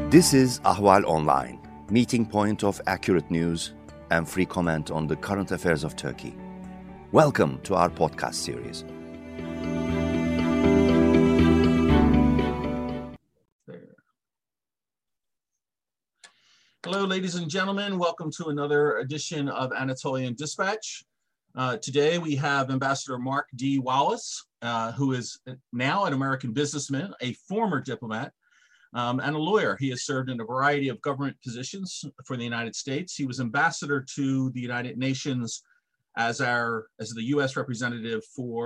This is Ahval Online, meeting point of accurate news and free comment on the current affairs of Turkey. Welcome to our podcast series. Hello, ladies and gentlemen. Welcome to another edition of Anatolian Dispatch. Today we have Ambassador Mark D. Wallace, who is now an American businessman, a former diplomat, and a lawyer. He has served in a variety of government positions for the United States. He was ambassador to the United Nations as the U.S. representative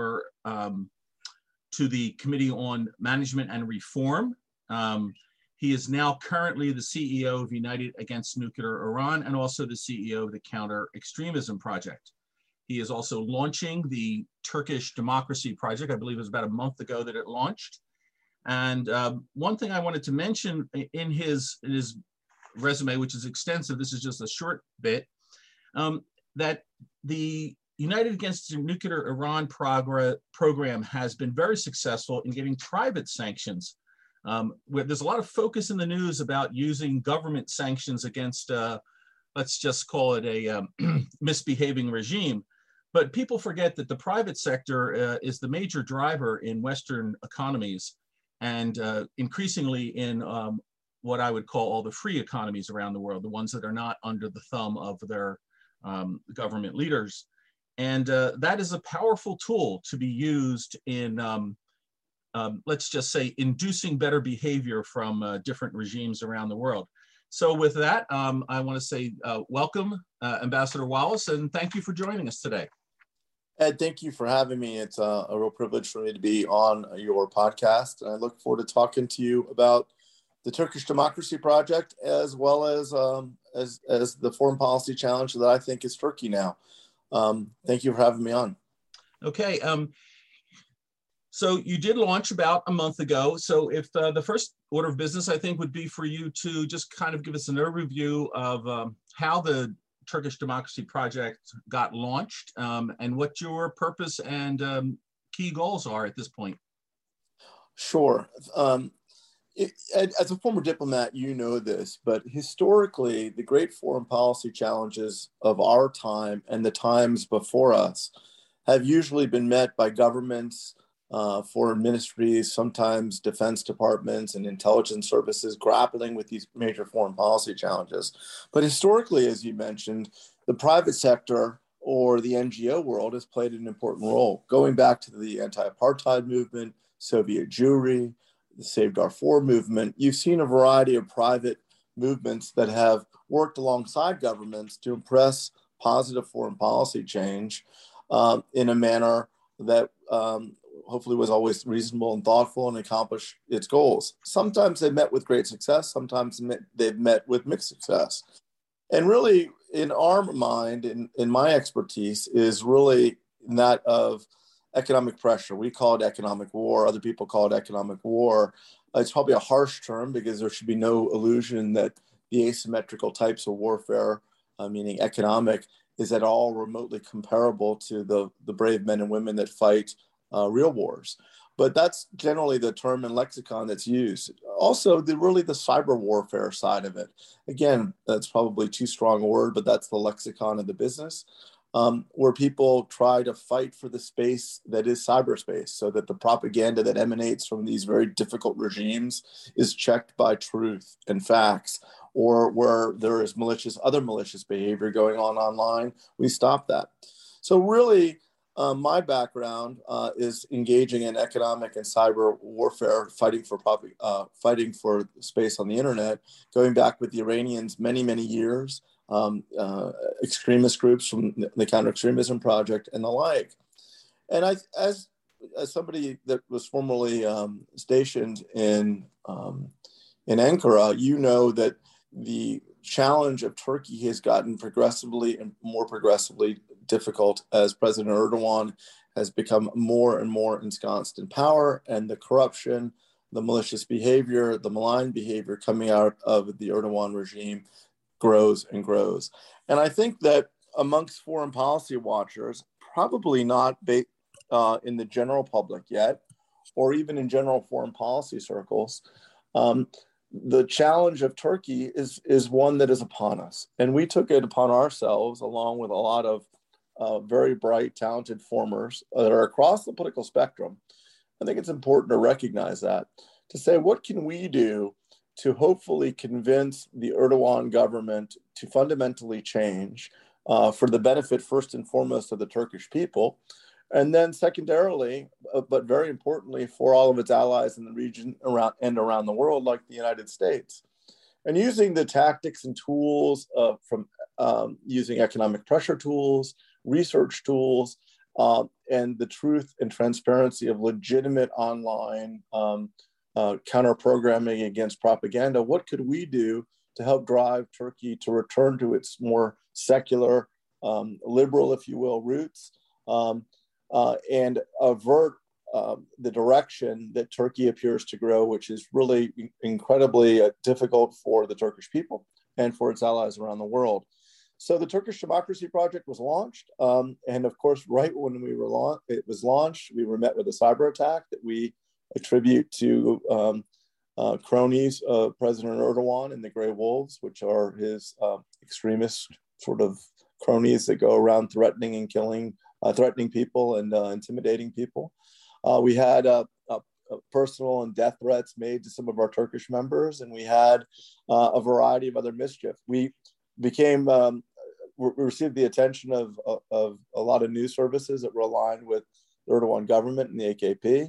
to the Committee on Management and Reform. He is now currently the CEO of United Against Nuclear Iran and also the CEO of the Counter Extremism Project. He is also launching the Turkish Democracy Project. I believe it was about a month ago that it launched. And one thing I wanted to mention in his resume, which is extensive, this is just a short bit, that the United Against Nuclear Iran program has been very successful in getting private sanctions. Where there's a lot of focus in the news about using government sanctions against, let's just call it a misbehaving regime. But people forget that the private sector is the major driver in Western economies and increasingly in what I would call all the free economies around the world, the ones that are not under the thumb of their government leaders. And that is a powerful tool to be used in let's just say, inducing better behavior from different regimes around the world. So with that, I want to say welcome, Ambassador Wallace, and thank you for joining us today. Ed, thank you for having me. It's a real privilege for me to be on your podcast, and I look forward to talking to you about the Turkish Democracy Project, as well as the foreign policy challenge that I think is Turkey now. Thank you for having me on. Okay. So you did launch about a month ago. So if the first order of business, I think, would be for you to just kind of give us an overview of how the Turkish Democracy Project got launched and what your purpose and key goals are at this point. Sure. As a former diplomat, you know this, but historically, the great foreign policy challenges of our time and the times before us have usually been met by governments, foreign ministries, sometimes defense departments and intelligence services grappling with these major foreign policy challenges. But historically, as you mentioned, the private sector or the NGO world has played an important role. Going back to the anti-apartheid movement, Soviet Jewry, the Save Darfur movement, you've seen a variety of private movements that have worked alongside governments to impress positive foreign policy change in a manner that hopefully was always reasonable and thoughtful and accomplished its goals. Sometimes they met with great success. Sometimes they've met with mixed success. And really, in our mind, in my expertise, is really that of economic pressure. We call it economic war. Other people call it economic war. It's probably a harsh term because there should be no illusion that the asymmetrical types of warfare, meaning economic, is at all remotely comparable to the brave men and women that fight real wars. But that's generally the term and lexicon that's used. Also, the cyber warfare side of it. Again, that's probably too strong a word, but that's the lexicon of the business, where people try to fight for the space that is cyberspace so that the propaganda that emanates from these very difficult regimes is checked by truth and facts, or where there is other malicious behavior going on online, we stop that. So really, my background is engaging in economic and cyber warfare, fighting for space on the internet, going back with the Iranians many, many years, extremist groups from the Counter Extremism Project and the like. And as somebody that was formerly stationed in Ankara, you know that the challenge of Turkey has gotten progressively and more progressively difficult as President Erdogan has become more and more ensconced in power, and the corruption, the malicious behavior, the malign behavior coming out of the Erdogan regime grows and grows. And I think that amongst foreign policy watchers, probably not in the general public yet, or even in general foreign policy circles, the challenge of Turkey is one that is upon us. And we took it upon ourselves, along with a lot of very bright, talented formers that are across the political spectrum. I think it's important to recognize that, to say, what can we do to hopefully convince the Erdogan government to fundamentally change for the benefit, first and foremost, of the Turkish people, and then secondarily, but very importantly, for all of its allies in the region around the world, like the United States. And using the tactics and tools from using economic pressure tools, research tools, and the truth and transparency of legitimate online counter-programming against propaganda. What could we do to help drive Turkey to return to its more secular, liberal, if you will, roots, and avert the direction that Turkey appears to grow, which is really incredibly difficult for the Turkish people and for its allies around the world. So the Turkish Democracy Project was launched. And of course, right when it was launched, we were met with a cyber attack that we attribute to cronies of President Erdogan and the Grey Wolves, which are his extremist sort of cronies that go around threatening and killing, threatening people and intimidating people. We had personal and death threats made to some of our Turkish members, and we had a variety of other mischief. We became, we received the attention of a lot of news services that were aligned with the Erdogan government and the AKP,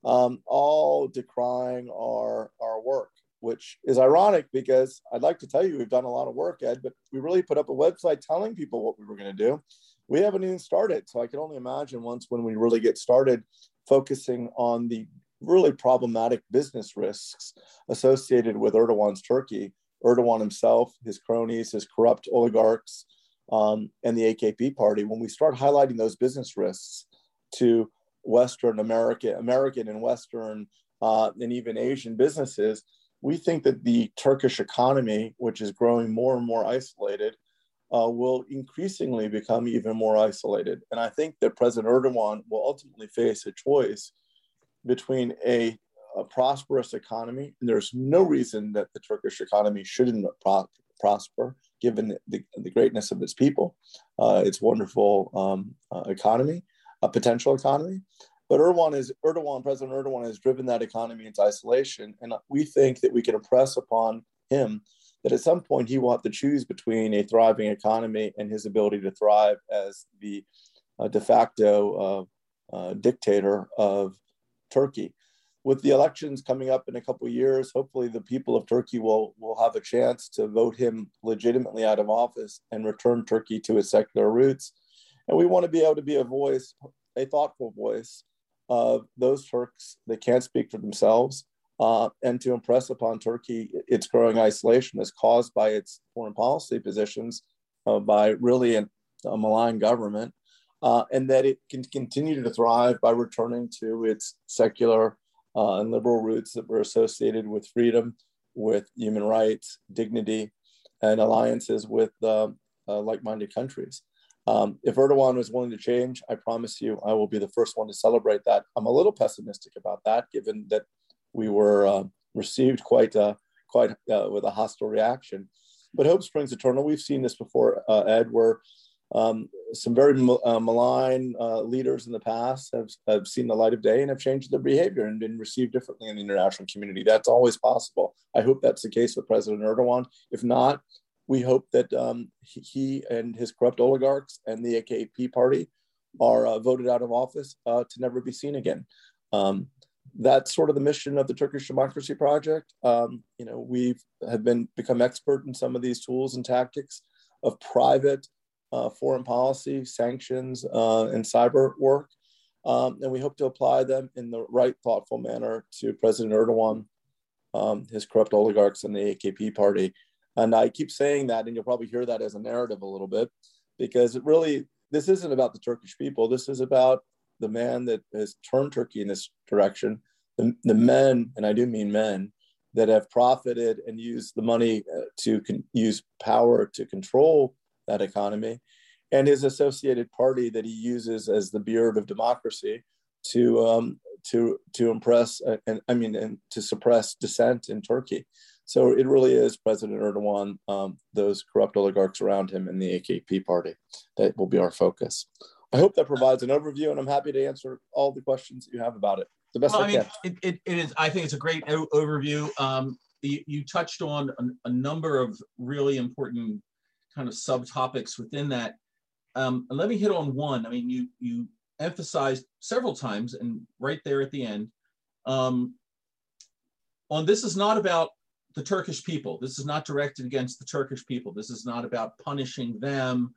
all decrying our work, which is ironic because I'd like to tell you we've done a lot of work, Ed, but we really put up a website telling people what we were going to do. We haven't even started. So I can only imagine when we really get started focusing on the really problematic business risks associated with Erdogan's Turkey, Erdogan himself, his cronies, his corrupt oligarchs, and the AKP party. When we start highlighting those business risks to Western American and Western and even Asian businesses, we think that the Turkish economy, which is growing more and more isolated, will increasingly become even more isolated. And I think that President Erdogan will ultimately face a choice between a prosperous economy, and there's no reason that the Turkish economy shouldn't prosper, given the greatness of its people, its wonderful economy, a potential economy. But President Erdogan has driven that economy into isolation. And we think that we can impress upon him that at some point he will have to choose between a thriving economy and his ability to thrive as the de facto dictator of Turkey. With the elections coming up in a couple of years, hopefully the people of Turkey will have a chance to vote him legitimately out of office and return Turkey to its secular roots. And we want to be able to be a voice, a thoughtful voice of those Turks that can't speak for themselves, and to impress upon Turkey its growing isolation as caused by its foreign policy positions, by really a malign government, and that it can continue to thrive by returning to its secular and liberal roots that were associated with freedom, with human rights, dignity, and alliances with like-minded countries. If Erdogan was willing to change, I promise you, I will be the first one to celebrate that. I'm a little pessimistic about that, given that we were received quite with a hostile reaction. But hope springs eternal. We've seen this before, Ed, where some very malign leaders in the past have seen the light of day and have changed their behavior and been received differently in the international community. That's always possible. I hope that's the case with President Erdogan. If not, we hope that he and his corrupt oligarchs and the AKP party are voted out of office to never be seen again. That's sort of the mission of the Turkish Democracy Project. We have become expert in some of these tools and tactics of private foreign policy, sanctions, and cyber work. And we hope to apply them in the right, thoughtful manner to President Erdogan, his corrupt oligarchs, and the AKP party. And I keep saying that, and you'll probably hear that as a narrative a little bit, because this isn't about the Turkish people. This is about the man that has turned Turkey in this direction, the men, and I do mean men, that have profited and used the money to use power to control that economy, and his associated party that he uses as the beard of democracy to impress and to suppress dissent in Turkey. So it really is President Erdogan, those corrupt oligarchs around him, and the AKP party that will be our focus. I hope that provides an overview, and I'm happy to answer all the questions that you have about it the best I can. It is. I think it's a great overview. You touched on a number of really important kind of subtopics within that. Let me hit on one. I mean, you emphasized several times, and right there at the end, on this is not about the Turkish people. This is not directed against the Turkish people. This is not about punishing them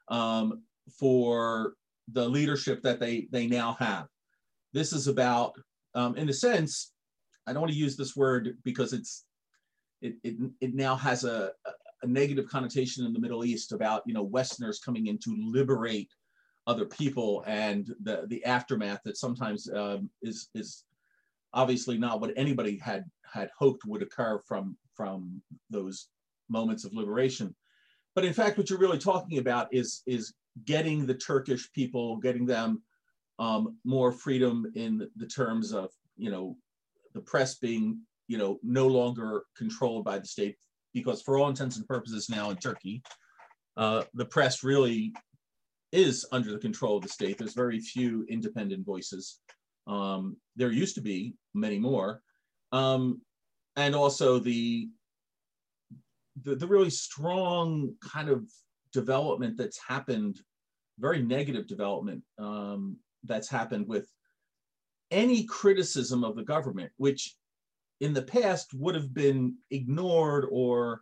for the leadership that they now have. This is about, in a sense, I don't want to use this word because it now has a negative connotation in the Middle East about, you know, Westerners coming in to liberate other people, and the aftermath that sometimes is obviously not what anybody had hoped would occur from those moments of liberation. But in fact, what you're really talking about is getting the Turkish people, getting them more freedom in the terms of, you know, the press being, you know, no longer controlled by the state, because for all intents and purposes now in Turkey, the press really is under the control of the state. There's very few independent voices. There used to be many more. And also the really strong kind of development that's happened, very negative development that's happened with any criticism of the government, which in the past would have been ignored or,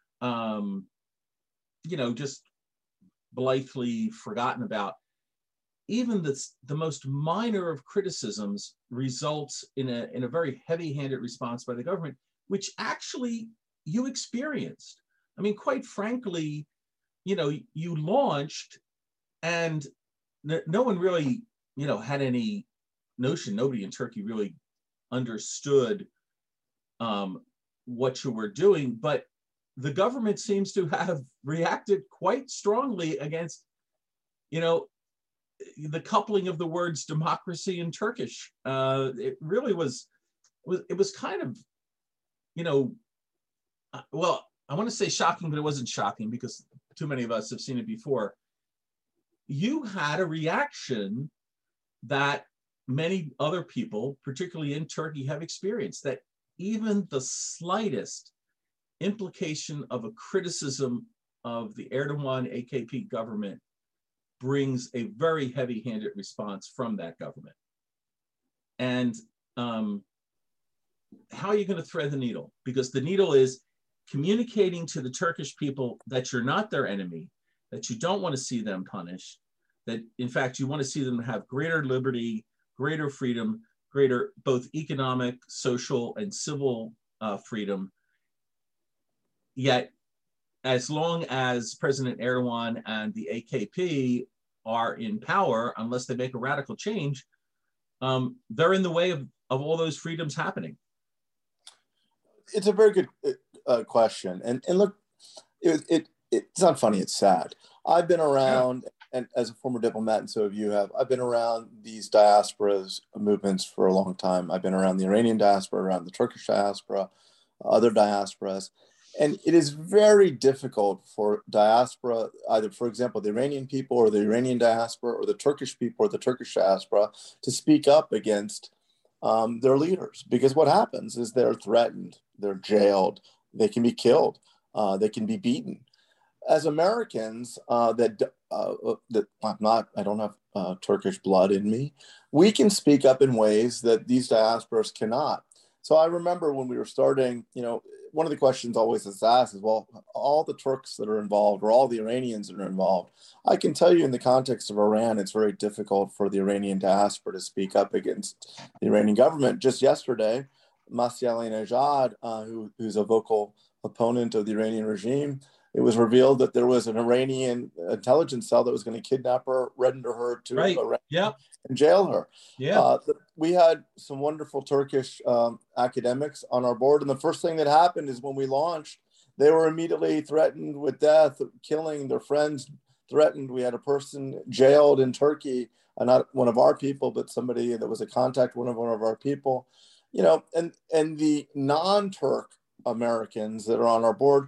you know, just blithely forgotten about. Even the most minor of criticisms results in a very heavy-handed response by the government, which actually you experienced. I mean, quite frankly, you know, you launched and no one really, you know, had any notion, nobody in Turkey really understood what you were doing, but the government seems to have reacted quite strongly against, you know, the coupling of the words democracy and Turkish. It really was kind of, you know, well, I want to say shocking, but it wasn't shocking because too many of us have seen it before. You had a reaction that many other people, particularly in Turkey, have experienced, that even the slightest implication of a criticism of the Erdogan AKP government brings a very heavy-handed response from that government. And how are you going to thread the needle? Because the needle is communicating to the Turkish people that you're not their enemy, that you don't want to see them punished, that in fact you want to see them have greater liberty, greater freedom, greater both economic, social, and civil freedom. Yet, as long as President Erdogan and the AKP are in power, unless they make a radical change, they're in the way of all those freedoms happening. It's a very good question. And look, it's not funny, it's sad. I've been around, and as a former diplomat, and so have you have, I've been around these diasporas movements for a long time. I've been around the Iranian diaspora, around the Turkish diaspora, other diasporas. And it is very difficult for diaspora, either, for example, the Iranian people or the Iranian diaspora or the Turkish people or the Turkish diaspora, to speak up against their leaders. Because what happens is they're threatened, they're jailed, they can be killed, they can be beaten. As Americans, I don't have Turkish blood in me, we can speak up in ways that these diasporas cannot. So I remember when we were starting, you know, one of the questions always is asked is, well, all the Turks that are involved or all the Iranians that are involved, I can tell you in the context of Iran, it's very difficult for the Iranian diaspora to speak up against the Iranian government. Just yesterday, Masih Alinejad, who's a vocal opponent of the Iranian regime, it was revealed that there was an Iranian intelligence cell that was going to kidnap her, render her to Iran, and jail her. We had some wonderful Turkish academics on our board. And the first thing that happened is when we launched, they were immediately threatened with death, killing, their friends threatened. We had a person jailed in Turkey, not one of our people, but somebody that was a contact, one of our people, you know, and the non-Turk Americans that are on our board,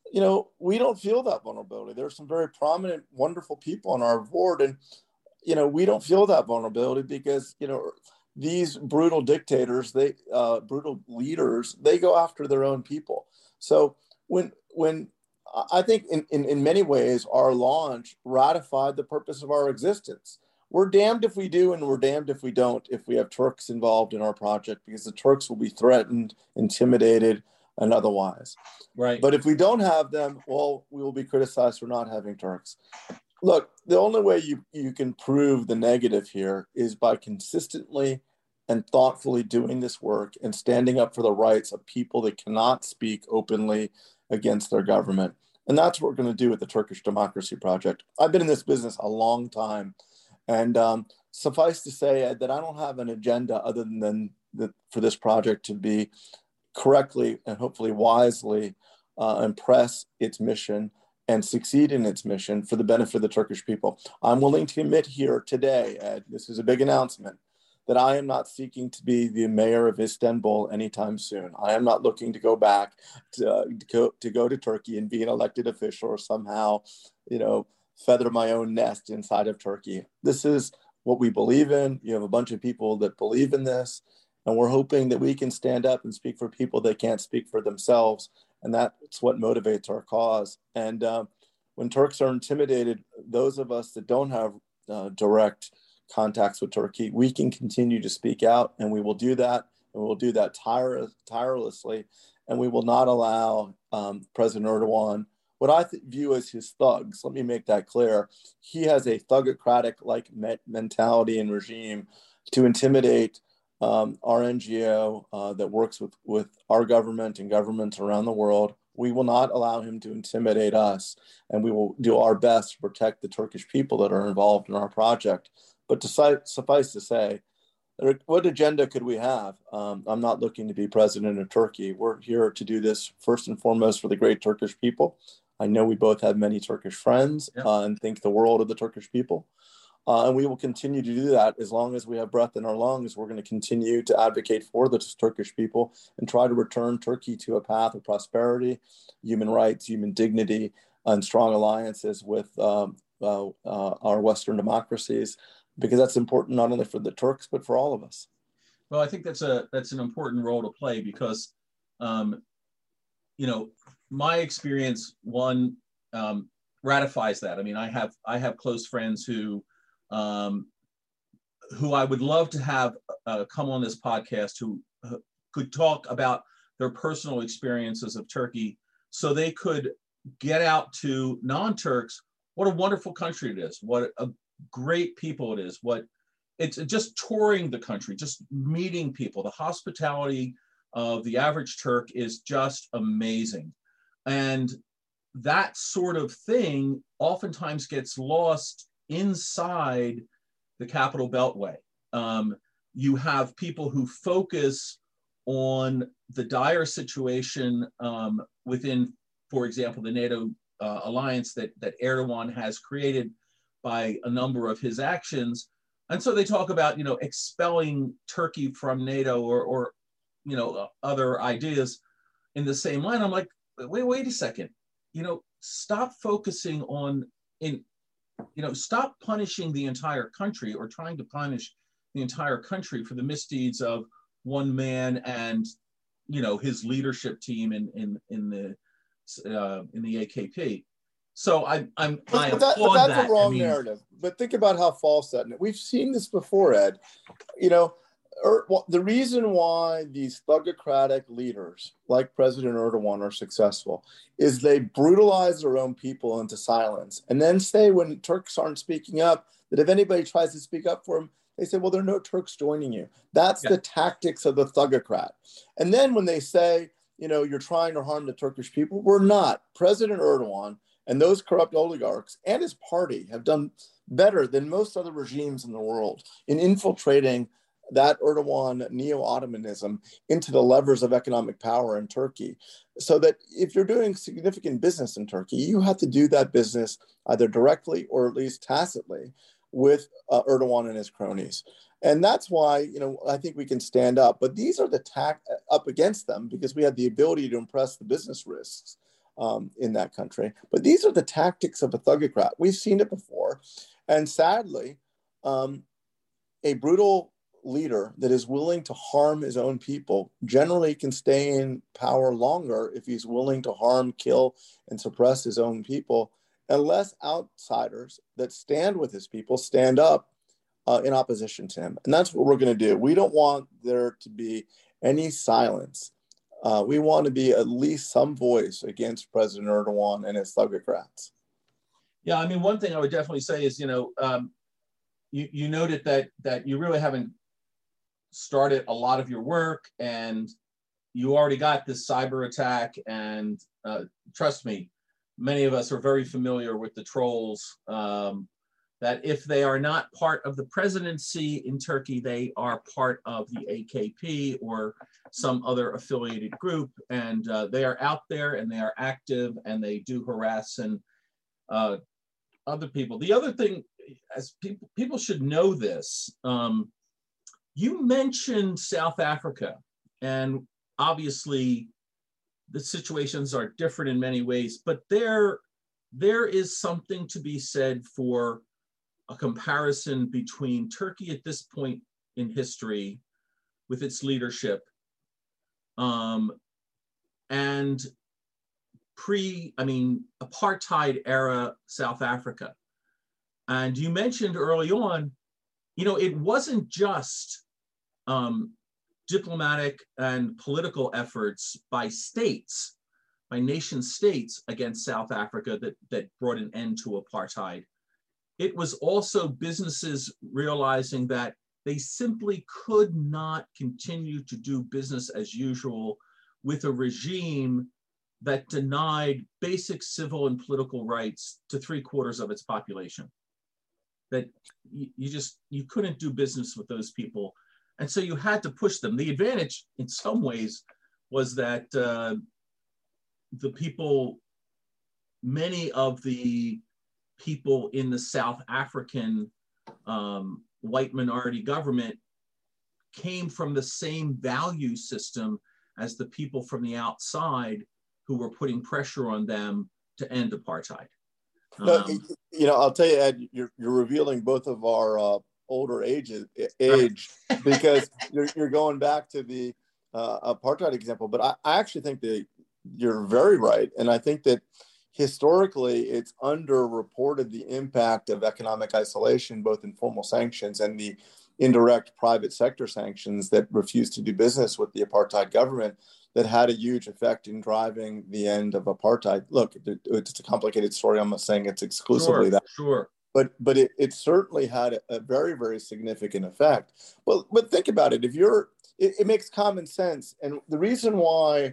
we don't feel that vulnerability. There's some very prominent, wonderful people on our board, and we don't feel that vulnerability because these brutal dictators, brutal leaders, they go after their own people. So when I think in many ways our launch ratified the purpose of our existence. We're damned if we do, and we're damned if we don't, if we have Turks involved in our project, because the Turks will be threatened, intimidated, and otherwise. Right. But if we don't have them, well, we will be criticized for not having Turks. Look, the only way you can prove the negative here is by consistently and thoughtfully doing this work and standing up for the rights of people that cannot speak openly against their government. And that's what we're going to do with the Turkish Democracy Project. I've been in this business a long time. And suffice to say, Ed, that I don't have an agenda other than for this project to be correctly and hopefully wisely impress its mission and succeed in its mission for the benefit of the Turkish people. I'm willing to admit here today, Ed, this is a big announcement, that I am not seeking to be the mayor of Istanbul anytime soon. I am not looking to go back to go to Turkey and be an elected official or somehow, feather my own nest inside of Turkey. This is what we believe in. You have a bunch of people that believe in this, and we're hoping that we can stand up and speak for people that can't speak for themselves. And that's what motivates our cause. And when Turks are intimidated, those of us that don't have direct contacts with Turkey, we can continue to speak out, and we will do that. And we'll do that tirelessly. And we will not allow President Erdogan, what I view as his thugs, let me make that clear. He has a thugocratic-like mentality and regime to intimidate our NGO that works with our government and governments around the world. We will not allow him to intimidate us, and we will do our best to protect the Turkish people that are involved in our project. But to suffice to say, what agenda could we have? I'm not looking to be president of Turkey. We're here to do this first and foremost for the great Turkish people. I know we both have many Turkish friends and think the world of the Turkish people. And we will continue to do that as long as we have breath in our lungs. We're going to continue to advocate for the Turkish people and try to return Turkey to a path of prosperity, human rights, human dignity, and strong alliances with our Western democracies, because that's important not only for the Turks, but for all of us. Well, I think that's an important role to play because, my experience, ratifies that. I mean, I have close friends who I would love to have come on this podcast who could talk about their personal experiences of Turkey so they could get out to non-Turks what a wonderful country it is, what a great people it is, what it's just touring the country, just meeting people. The hospitality of the average Turk is just amazing. And that sort of thing oftentimes gets lost inside the Capital Beltway. You have people who focus on the dire situation within, for example, the NATO alliance that Erdogan has created by a number of his actions. And so they talk about, expelling Turkey from NATO or other ideas in the same line. I'm like, wait a second, stop focusing on, stop punishing the entire country or trying to punish the entire country for the misdeeds of one man and, his leadership team in the AKP. So I applaud that's that. a wrong narrative. But think about how false that. We've seen this before, Ed. The reason why these thugocratic leaders like President Erdogan are successful is they brutalize their own people into silence, and then say when Turks aren't speaking up that if anybody tries to speak up for them, they say, well, there are no Turks joining you. That's the tactics of the thugocrat. And then when they say, you're trying to harm the Turkish people, we're not. President Erdogan and those corrupt oligarchs and his party have done better than most other regimes in the world in infiltrating that Erdogan neo-Ottomanism into the levers of economic power in Turkey. So that if you're doing significant business in Turkey, you have to do that business either directly or at least tacitly with Erdogan and his cronies. And that's why, you know, I think we can stand up. But these are the up against them because we had the ability to impress the business risks in that country. But these are the tactics of a thugocrat. We've seen it before. And sadly, a brutal leader that is willing to harm his own people generally can stay in power longer if he's willing to harm, kill, and suppress his own people, unless outsiders that stand with his people stand up in opposition to him. And that's what we're going to do. We don't want there to be any silence. We want to be at least some voice against President Erdogan and his thugocrats. Yeah, I mean, one thing I would definitely say is, you know, you noted that you really haven't started a lot of your work, and you already got this cyber attack. And trust me, many of us are very familiar with the trolls. That if they are not part of the presidency in Turkey, they are part of the AKP or some other affiliated group, and they are out there and they are active and they do harass and other people. The other thing, as people should know this, you mentioned South Africa, and obviously the situations are different in many ways, but there is something to be said for a comparison between Turkey at this point in history with its leadership and apartheid era South Africa. And you mentioned early on, you know, it wasn't just diplomatic and political efforts by states, by nation states against South Africa that brought an end to apartheid. It was also businesses realizing that they simply could not continue to do business as usual with a regime that denied basic civil and political rights to 3/4 of its population. That you couldn't do business with those people. And so you had to push them. The advantage in some ways was that many of the people in the South African white minority government came from the same value system as the people from the outside who were putting pressure on them to end apartheid. You know, I'll tell you, Ed, you're revealing both of our older age because you're going back to the apartheid example. But I actually think that you're very right. And I think that historically, it's underreported the impact of economic isolation, both in formal sanctions and the indirect private sector sanctions that refused to do business with the apartheid government, that had a huge effect in driving the end of apartheid. Look, it's a complicated story. I'm not saying it's exclusively that. Sure. But it certainly had a very, very significant effect. But think about it. It makes common sense. And the reason why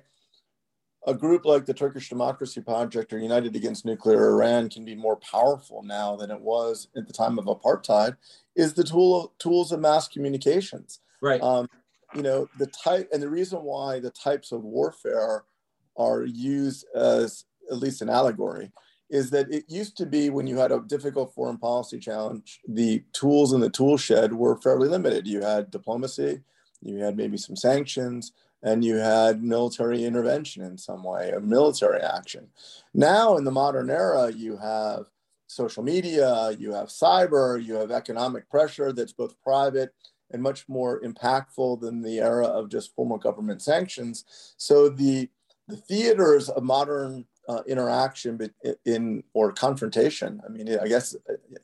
a group like the Turkish Democracy Project or United Against Nuclear Iran can be more powerful now than it was at the time of apartheid is the tools of mass communications. Right. You know, the reason why the types of warfare are used as at least an allegory is that it used to be when you had a difficult foreign policy challenge, the tools in the tool shed were fairly limited. You had diplomacy, you had maybe some sanctions, and you had military intervention in some way, a military action. Now in the modern era, you have social media, you have cyber, you have economic pressure that's both private and much more impactful than the era of just formal government sanctions. So the theaters of modern interaction or confrontation, I mean, I guess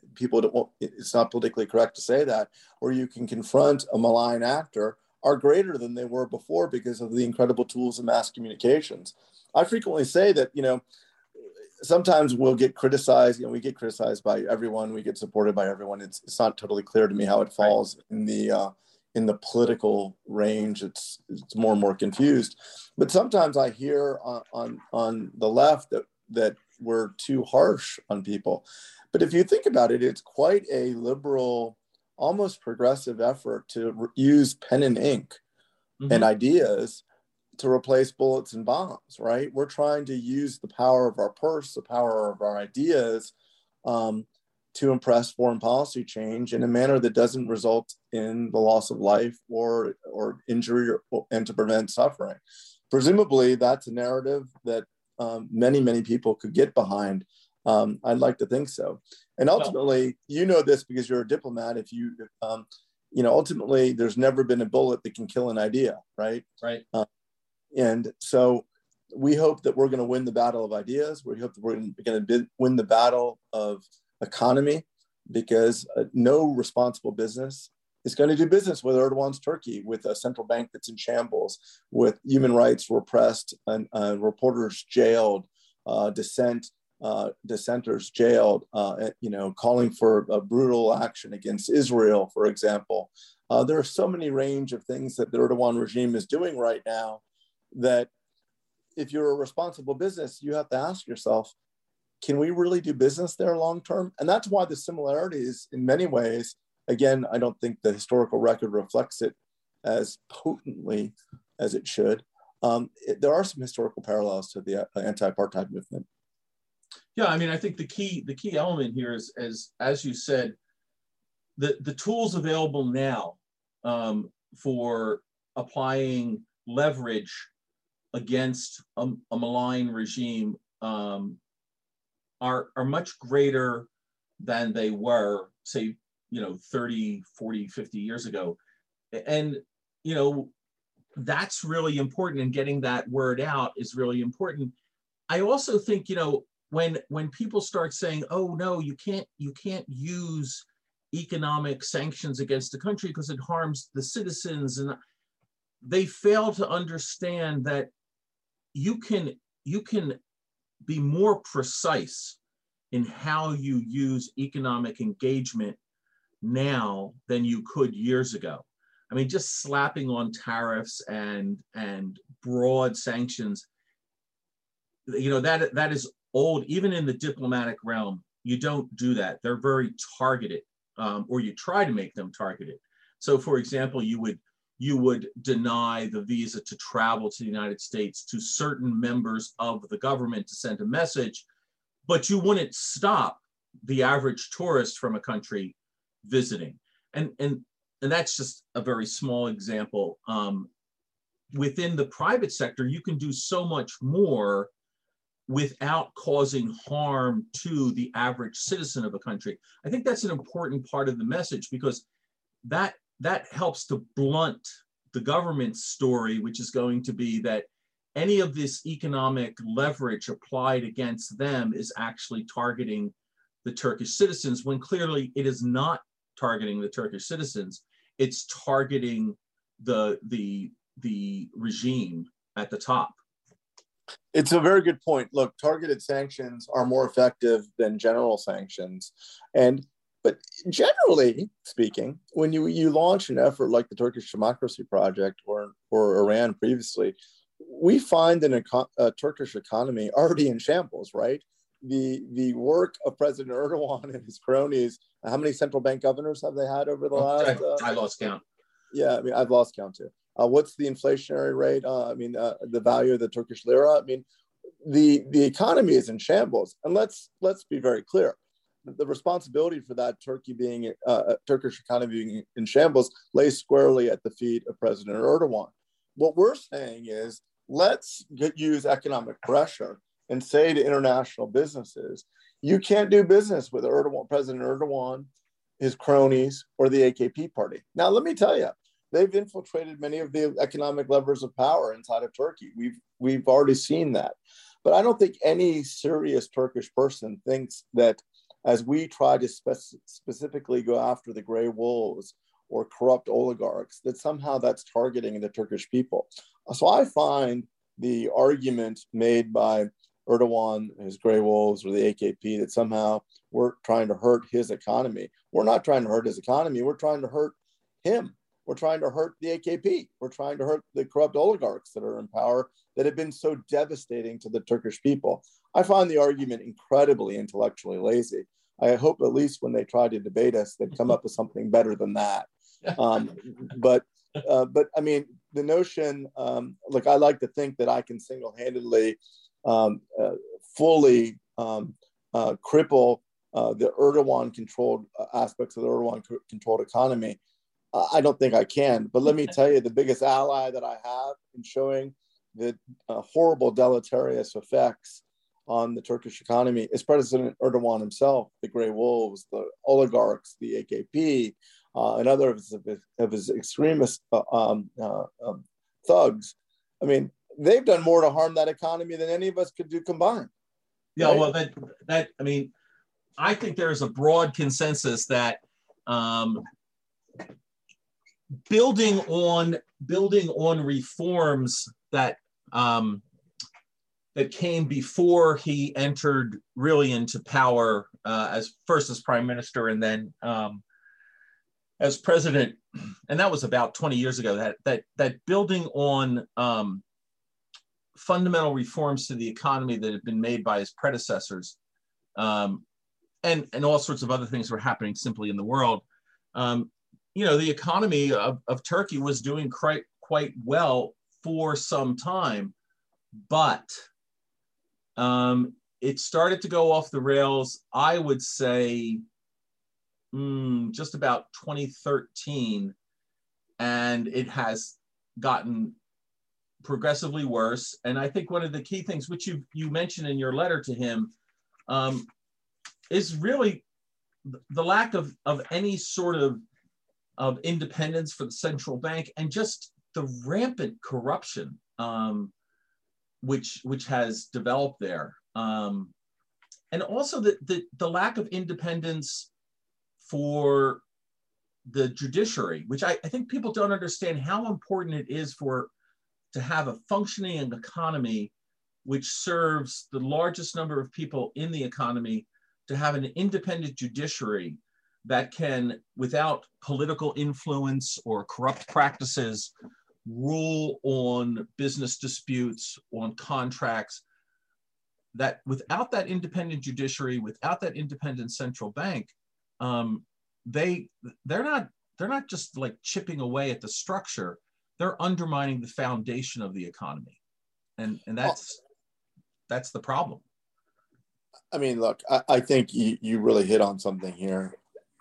it's not politically correct to say that, where you can confront a malign actor, are greater than they were before because of the incredible tools of mass communications. I frequently say that, you know, sometimes we'll get criticized, you know, we get criticized by everyone, we get supported by everyone. It's not totally clear to me how it falls in the political range. It's more and more confused. But sometimes I hear on the left that we're too harsh on people. But if you think about it, it's quite a liberal, almost progressive effort to use pen and ink and ideas to replace bullets and bombs, right? We're trying to use the power of our purse, the power of our ideas, to impress foreign policy change in a manner that doesn't result in the loss of life or injury and to prevent suffering. Presumably, that's a narrative that many people could get behind. I'd like to think so. And ultimately, you know this because you're a diplomat. If you, ultimately, there's never been a bullet that can kill an idea, right? Right. And so we hope that we're going to win the battle of ideas. We hope that we're going to win the battle of economy, because no responsible business is going to do business with Erdogan's Turkey, with a central bank that's in shambles, with human rights repressed and reporters jailed, dissenters jailed, calling for a brutal action against Israel, for example. There are so many range of things that the Erdogan regime is doing right now that if you're a responsible business, you have to ask yourself, can we really do business there long term? And that's why the similarities in many ways, again, I don't think the historical record reflects it as potently as it should. There are some historical parallels to the anti-apartheid movement. Yeah, I mean, I think the key element here is, as you said, the tools available now for applying leverage against a malign regime are much greater than they were, say, 30, 40, 50 years ago. And, that's really important, and getting that word out is really important. I also think, when people start saying, oh, no, you can't use economic sanctions against a country because it harms the citizens, and they fail to understand that you can be more precise in how you use economic engagement now than you could years ago. I mean, just slapping on tariffs and broad sanctions, that is old. Even in the diplomatic realm, you don't do that. They're very targeted, or you try to make them targeted. So, for example, you would deny the visa to travel to the United States to certain members of the government to send a message, but you wouldn't stop the average tourist from a country visiting. And that's just a very small example. Within the private sector, you can do so much more without causing harm to the average citizen of a country. I think that's an important part of the message, because that helps to blunt the government's story, which is going to be that any of this economic leverage applied against them is actually targeting the Turkish citizens, when clearly it is not targeting the Turkish citizens. It's targeting the regime at the top. It's a very good point. Look, targeted sanctions are more effective than general sanctions. But generally speaking, when you launch an effort like the Turkish Democracy Project or Iran previously, we find a Turkish economy already in shambles, right? The work of President Erdogan and his cronies, how many central bank governors have they had over the last? I lost count. Yeah, I mean, I've lost count too. What's the inflationary rate? The value of the Turkish lira. I mean, the economy is in shambles. And let's be very clear. The responsibility for that Turkish economy being in shambles lays squarely at the feet of President Erdogan. What we're saying is, let's use economic pressure and say to international businesses, you can't do business with President Erdogan, his cronies, or the AKP party. Now, let me tell you, they've infiltrated many of the economic levers of power inside of Turkey. We've already seen that. But I don't think any serious Turkish person thinks that as we try to specifically go after the gray wolves or corrupt oligarchs, that somehow that's targeting the Turkish people. So I find the argument made by Erdogan, his gray wolves, or the AKP, that somehow we're trying to hurt his economy. We're not trying to hurt his economy. We're trying to hurt him. We're trying to hurt the AKP. We're trying to hurt the corrupt oligarchs that are in power that have been so devastating to the Turkish people. I find the argument incredibly intellectually lazy. I hope at least when they try to debate us, they'd come up with something better than that. But I mean, the notion, look, I like to think that I can single-handedly fully cripple the Erdogan-controlled aspects of the Erdogan-controlled economy. I don't think I can. But let me tell you, the biggest ally that I have in showing the horrible deleterious effects on the Turkish economy is President Erdogan himself, the Grey Wolves, the oligarchs, the AKP, and others of his extremist thugs. I mean, they've done more to harm that economy than any of us could do combined. Yeah, right? well, I mean, I think there's a broad consensus that building on reforms that that came before he entered really into power as prime minister and then as president, and that was about 20 years ago. That building on fundamental reforms to the economy that had been made by his predecessors, and all sorts of other things were happening simply in the world. The economy of Turkey was doing quite well for some time, but it started to go off the rails, I would say, just about 2013, and it has gotten progressively worse. And I think one of the key things, which you mentioned in your letter to him, is really the lack of any sort of independence for the central bank, and just the rampant corruption which has developed there, and also the lack of independence for the judiciary, which I think people don't understand how important it is to have a functioning economy which serves the largest number of people in the economy, to have an independent judiciary that can, without political influence or corrupt practices, rule on business disputes, on contracts. That without that independent judiciary, without that independent central bank, they're not just like chipping away at the structure, they're undermining the foundation of the economy, and that's the problem. I mean, look, I think you really hit on something here.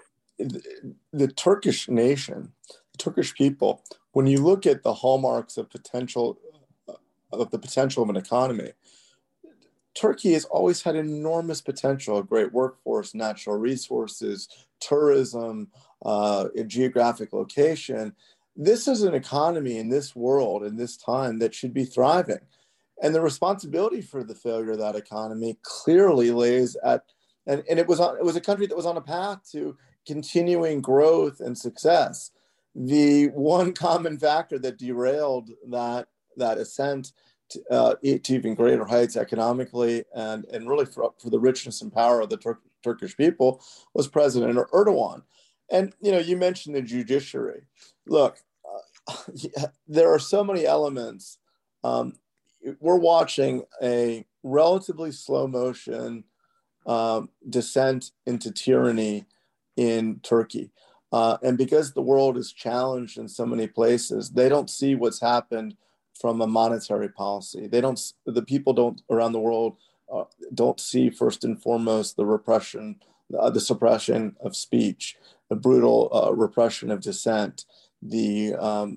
The Turkish nation, the Turkish people, when you look at the hallmarks of the potential of an economy, Turkey has always had enormous potential, a great workforce, natural resources, tourism, geographic location. This is an economy in this world, in this time, that should be thriving. And the responsibility for the failure of that economy clearly lays at, and it was a country that was on a path to continuing growth and success. The one common factor that derailed that ascent to even greater heights economically and really for the richness and power of the Turkish people was President Erdogan. And you mentioned the judiciary. Look, there are so many elements. We're watching a relatively slow motion descent into tyranny in Turkey. And because the world is challenged in so many places, they don't see what's happened from a monetary policy. The people around the world don't see first and foremost the repression, the suppression of speech, the brutal repression of dissent, the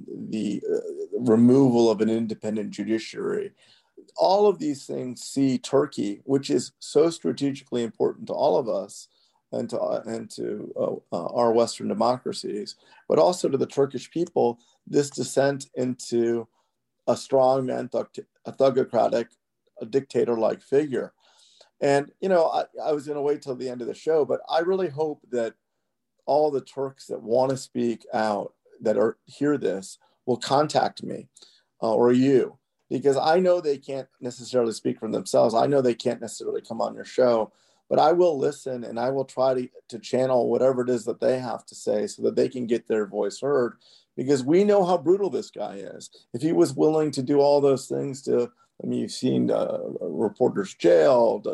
removal of an independent judiciary. All of these things see Turkey, which is so strategically important to all of us and to our Western democracies, but also to the Turkish people, this descent into a strongman, a thugocratic, a dictator-like figure. And, I was going to wait till the end of the show, but I really hope that all the Turks that want to speak out, that hear this, will contact me or you, because I know they can't necessarily speak for themselves. I know they can't necessarily come on your show, but I will listen and I will try to channel whatever it is that they have to say so that they can get their voice heard, because we know how brutal this guy is. If he was willing to do all those things you've seen reporters jailed,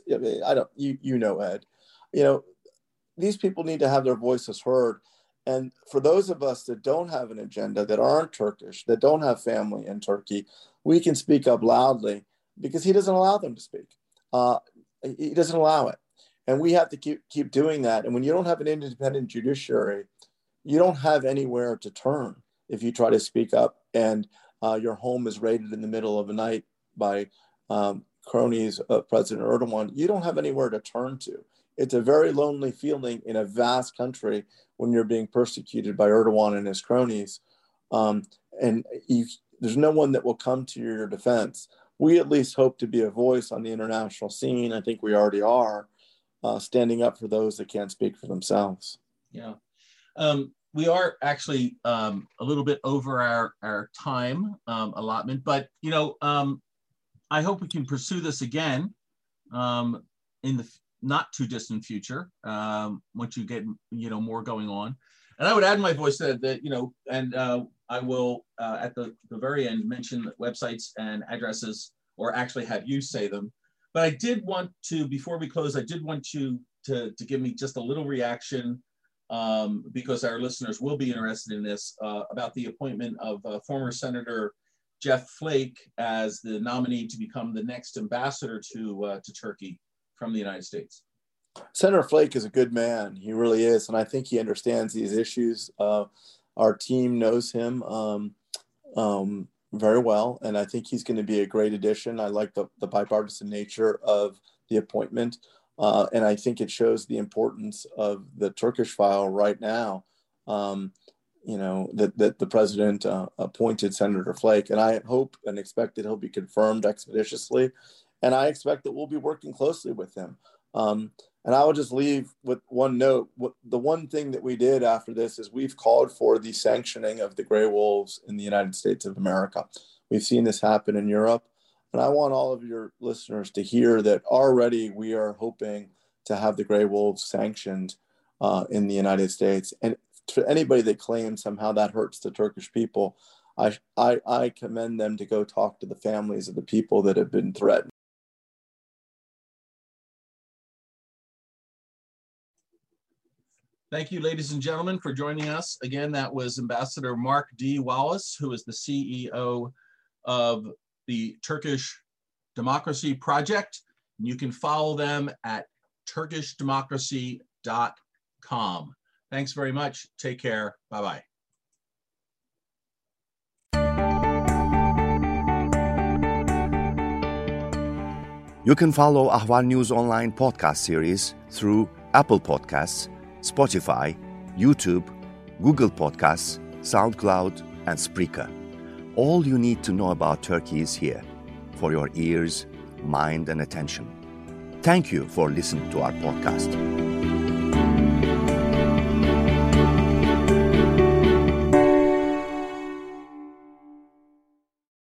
Ed, these people need to have their voices heard. And for those of us that don't have an agenda, that aren't Turkish, that don't have family in Turkey, we can speak up loudly because he doesn't allow them to speak. He doesn't allow it. And we have to keep doing that. And when you don't have an independent judiciary, you don't have anywhere to turn if you try to speak up and your home is raided in the middle of the night by cronies of President Erdogan. You don't have anywhere to turn to. It's a very lonely feeling in a vast country when you're being persecuted by Erdogan and his cronies. There's no one that will come to your defense. We at least hope to be a voice on the international scene. I think we already are, standing up for those that can't speak for themselves. Yeah. We are actually a little bit over our time allotment, but, I hope we can pursue this again in the not too distant future once you get, more going on. And I would add my voice that I will at the very end mention websites and addresses, or actually have you say them. But I did want to, before we close, I did want you to give me just a little reaction because our listeners will be interested in this about the appointment of former Senator Jeff Flake as the nominee to become the next ambassador to Turkey from the United States. Senator Flake is a good man. He really is. And I think he understands these issues. Our team knows him very well. And I think he's going to be a great addition. I like the bipartisan nature of the appointment. And I think it shows the importance of the Turkish file right now, that the president appointed Senator Flake. And I hope and expect that he'll be confirmed expeditiously. And I expect that we'll be working closely with him. And I will just leave with one note. The one thing that we did after this is we've called for the sanctioning of the gray wolves in the United States of America. We've seen this happen in Europe. And I want all of your listeners to hear that already we are hoping to have the gray wolves sanctioned in the United States. And to anybody that claims somehow that hurts the Turkish people, I commend them to go talk to the families of the people that have been threatened. Thank you, ladies and gentlemen, for joining us. Again, that was Ambassador Mark D. Wallace, who is the CEO of the Turkish Democracy Project. You can follow them at turkishdemocracy.com. Thanks very much. Take care. Bye-bye. You can follow Ahval News Online podcast series through Apple Podcasts, Spotify, YouTube, Google Podcasts, SoundCloud, and Spreaker. All you need to know about Turkey is here for your ears, mind, and attention. Thank you for listening to our podcast.